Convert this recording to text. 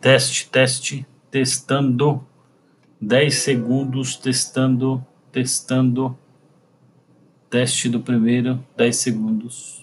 Teste, testando. 10 segundos, testando. Teste do primeiro, 10 segundos.